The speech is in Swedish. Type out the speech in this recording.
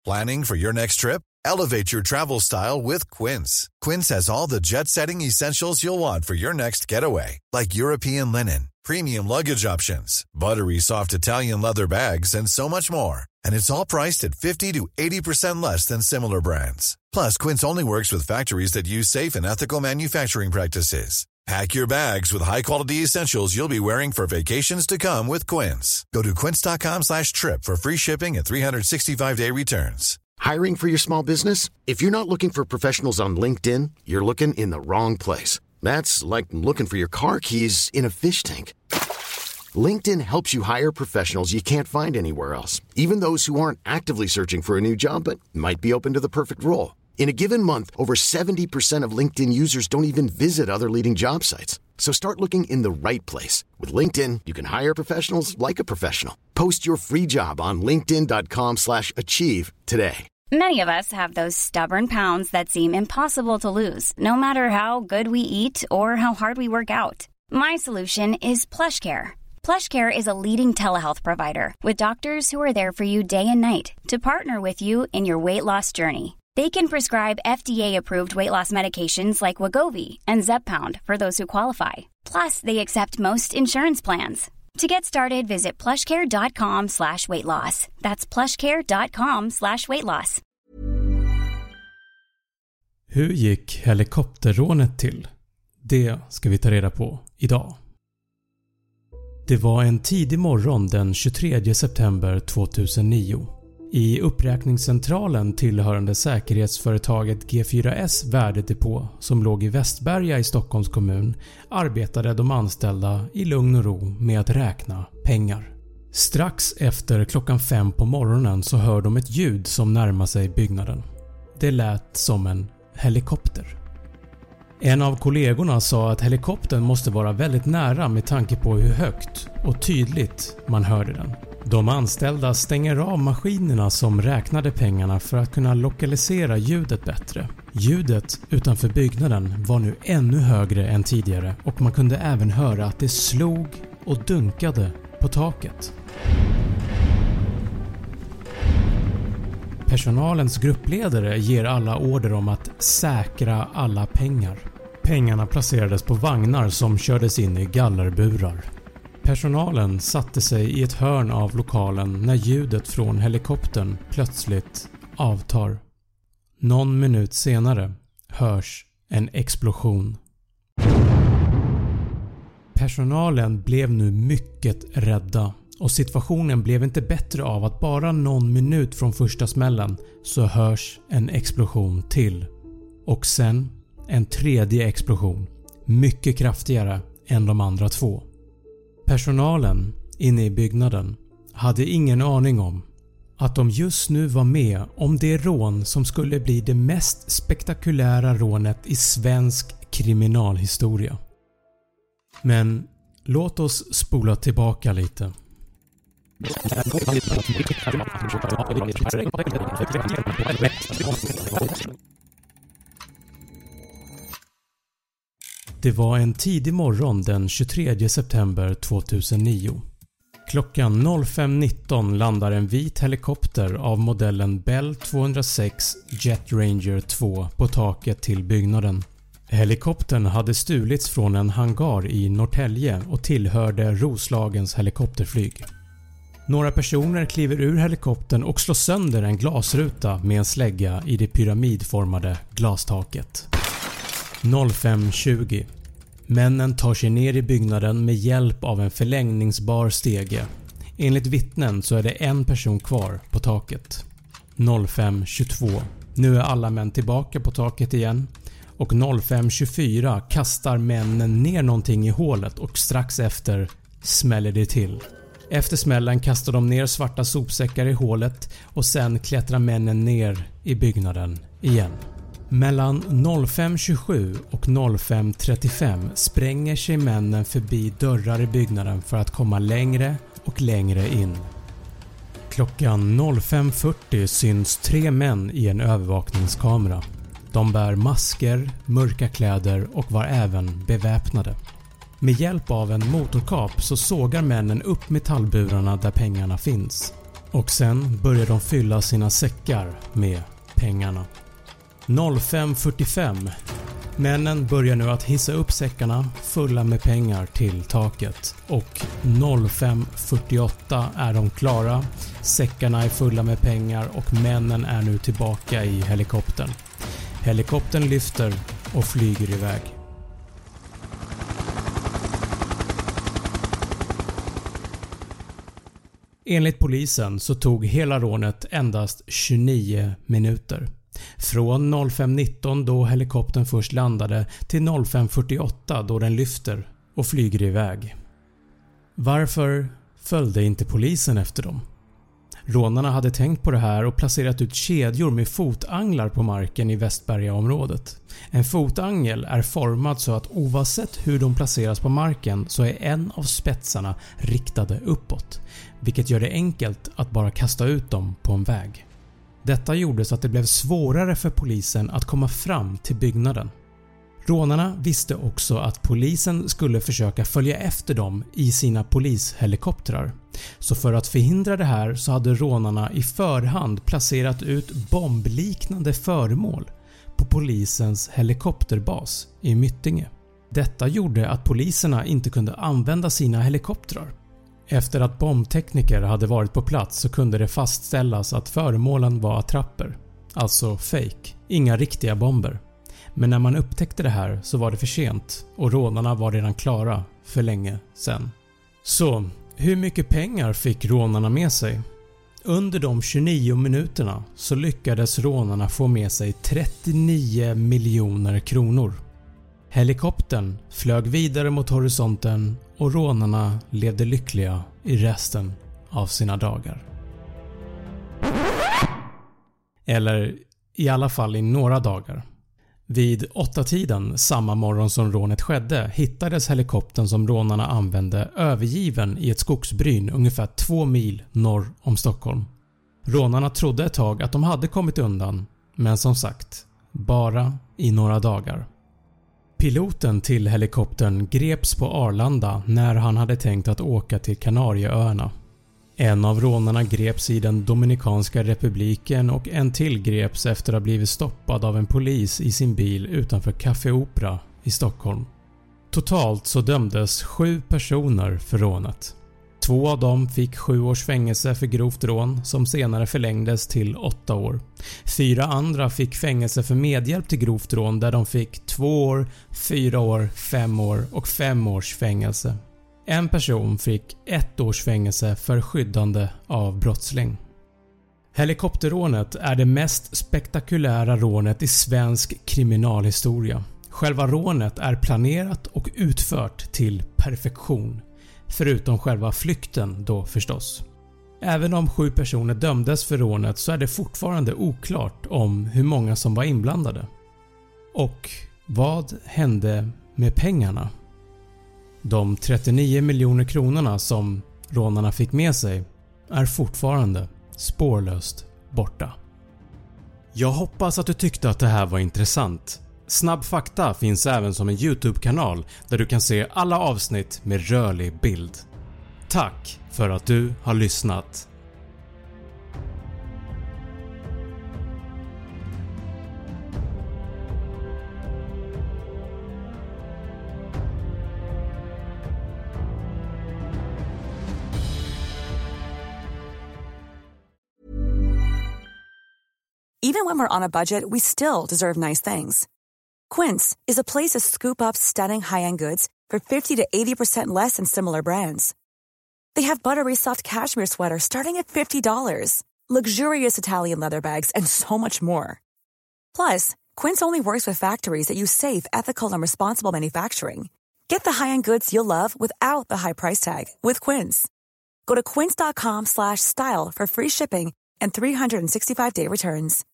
Planning for your next trip? Elevate your travel style with Quince. Quince has all the jet-setting essentials you'll want for your next getaway, like European linen, premium luggage options, buttery soft Italian leather bags, and so much more. And it's all priced at 50 to 80% less than similar brands. Plus, Quince only works with factories that use safe and ethical manufacturing practices. Pack your bags with high-quality essentials you'll be wearing for vacations to come with Quince. Go to quince.com/trip for free shipping and 365-day returns. Hiring for your small business? If you're not looking for professionals on LinkedIn, you're looking in the wrong place. That's like looking for your car keys in a fish tank. LinkedIn helps you hire professionals you can't find anywhere else, even those who aren't actively searching for a new job but might be open to the perfect role. In a given month, over 70% of LinkedIn users don't even visit other leading job sites. So start looking in the right place. With LinkedIn, you can hire professionals like a professional. Post your free job on linkedin.com/achieve today. Many of us have those stubborn pounds that seem impossible to lose, no matter how good we eat or how hard we work out. My solution is PlushCare. PlushCare is a leading telehealth provider with doctors who are there for you day and night to partner with you in your weight loss journey. They can prescribe FDA-approved weight loss medications like Wegovy and Zepbound for those who qualify. Plus, they accept most insurance plans. To get started, visit plushcare.com/weightloss. That's plushcare.com/weightloss. Hur gick helikopterrånet till? Det ska vi ta reda på idag. Det var en tidig morgon den 23 september 2009. I uppräkningscentralen tillhörande säkerhetsföretaget G4S värdedepå som låg i Västberga i Stockholms kommun arbetade de anställda i lugn och ro med att räkna pengar. Strax efter klockan 5 på morgonen så hör de ett ljud som närmar sig byggnaden. Det lät som en helikopter. En av kollegorna sa att helikoptern måste vara väldigt nära med tanke på hur högt och tydligt man hörde den. De anställda stänger av maskinerna som räknade pengarna för att kunna lokalisera ljudet bättre. Ljudet utanför byggnaden var nu ännu högre än tidigare och man kunde även höra att det slog och dunkade på taket. Personalens gruppledare ger alla order om att säkra alla pengar. Pengarna placerades på vagnar som kördes in i gallerburar. Personalen satte sig i ett hörn av lokalen när ljudet från helikoptern plötsligt avtar. Någon minut senare hörs en explosion. Personalen blev nu mycket rädda och situationen blev inte bättre av att bara någon minut från första smällen så hörs en explosion till. Och sen en tredje explosion, mycket kraftigare än de andra två. Personalen inne i byggnaden hade ingen aning om att de just nu var med om det rån som skulle bli det mest spektakulära rånet i svensk kriminalhistoria. Men låt oss spola tillbaka lite. Det var en tidig morgon den 23 september 2009. Klockan 05.19 landar en vit helikopter av modellen Bell 206 Jet Ranger 2 på taket till byggnaden. Helikoptern hade stulits från en hangar i Norrtälje och tillhörde Roslagens helikopterflyg. Några personer kliver ur helikoptern och slår sönder en glasruta med en slägga i det pyramidformade glastaket. 05.20. Männen tar sig ner i byggnaden med hjälp av en förlängningsbar stege. Enligt vittnen så är det en person kvar på taket. 05.22. Nu är alla män tillbaka på taket igen. Och 05.24 kastar männen ner någonting i hålet och strax efter smäller det till. Efter smällen kastar de ner svarta sopsäckar i hålet och sen klättrar männen ner i byggnaden igen. Mellan 05.27 och 05.35 spränger sig männen förbi dörrar i byggnaden för att komma längre och längre in. Klockan 05.40 syns 3 män i en övervakningskamera. De bär masker, mörka kläder och var även beväpnade. Med hjälp av en motorkap så sågar männen upp metallburarna där pengarna finns. Och sen börjar de fylla sina säckar med pengarna. 05:45. Männen börjar nu att hissa upp säckarna fulla med pengar till taket och 05:48 är de klara. Säckarna är fulla med pengar och männen är nu tillbaka i helikoptern. Helikoptern lyfter och flyger iväg. Enligt polisen så tog hela rånet endast 29 minuter. Från 05:19 då helikoptern först landade till 05:48 då den lyfter och flyger iväg. Varför följde inte polisen efter dem? Rånarna hade tänkt på det här och placerat ut kedjor med fotanglar på marken i Västbergaområdet. En fotangel är formad så att oavsett hur de placeras på marken så är en av spetsarna riktade uppåt, vilket gör det enkelt att bara kasta ut dem på en väg. Detta gjorde så att det blev svårare för polisen att komma fram till byggnaden. Rånarna visste också att polisen skulle försöka följa efter dem i sina polishelikoptrar. Så för att förhindra det här så hade rånarna i förhand placerat ut bombliknande föremål på polisens helikopterbas i Myttinge. Detta gjorde att poliserna inte kunde använda sina helikoptrar. Efter att bombtekniker hade varit på plats så kunde det fastställas att föremålen var attrapper, alltså fake, inga riktiga bomber. Men när man upptäckte det här så var det för sent och rånarna var redan klara för länge sedan. Så hur mycket pengar fick rånarna med sig? Under de 29 minuterna så lyckades rånarna få med sig 39 miljoner kronor. Helikoptern flög vidare mot horisonten och rånarna levde lyckliga i resten av sina dagar. Eller i alla fall i några dagar. Vid 8-tiden samma morgon som rånet skedde hittades helikoptern som rånarna använde övergiven i ett skogsbryn ungefär 2 mil norr om Stockholm. Rånarna trodde ett tag att de hade kommit undan, men som sagt, bara i några dagar. Piloten till helikoptern greps på Arlanda när han hade tänkt att åka till Kanarieöarna. En av rånarna greps i den Dominikanska republiken och en till greps efter att ha blivit stoppad av en polis i sin bil utanför Café Opera i Stockholm. Totalt så dömdes 7 personer för rånet. 2 av dem fick 7 års fängelse för grovt rån som senare förlängdes till 8 år. 4 andra fick fängelse för medhjälp till grovt rån där de fick 2 år, 4 år, 5 år och 5 års fängelse. En person fick 1 års fängelse för skyddande av brottsling. Helikopterrånet är det mest spektakulära rånet i svensk kriminalhistoria. Själva rånet är planerat och utfört till perfektion. Förutom själva flykten då förstås. Även om 7 personer dömdes för rånet så är det fortfarande oklart om hur många som var inblandade. Och vad hände med pengarna? De 39 miljoner kronorna som rånarna fick med sig är fortfarande spårlöst borta. Jag hoppas att du tyckte att det här var intressant. Snabb fakta finns även som en YouTube-kanal där du kan se alla avsnitt med rörlig bild. Tack för att du har lyssnat. Even when we're on a budget, we still deserve nice things. Quince is a place to scoop up stunning high-end goods for 50 to 80% less than similar brands. They have buttery soft cashmere sweaters starting at $50, luxurious Italian leather bags, and so much more. Plus, Quince only works with factories that use safe, ethical, and responsible manufacturing. Get the high-end goods you'll love without the high price tag with Quince. Go to quince.com/style for free shipping and 365-day returns.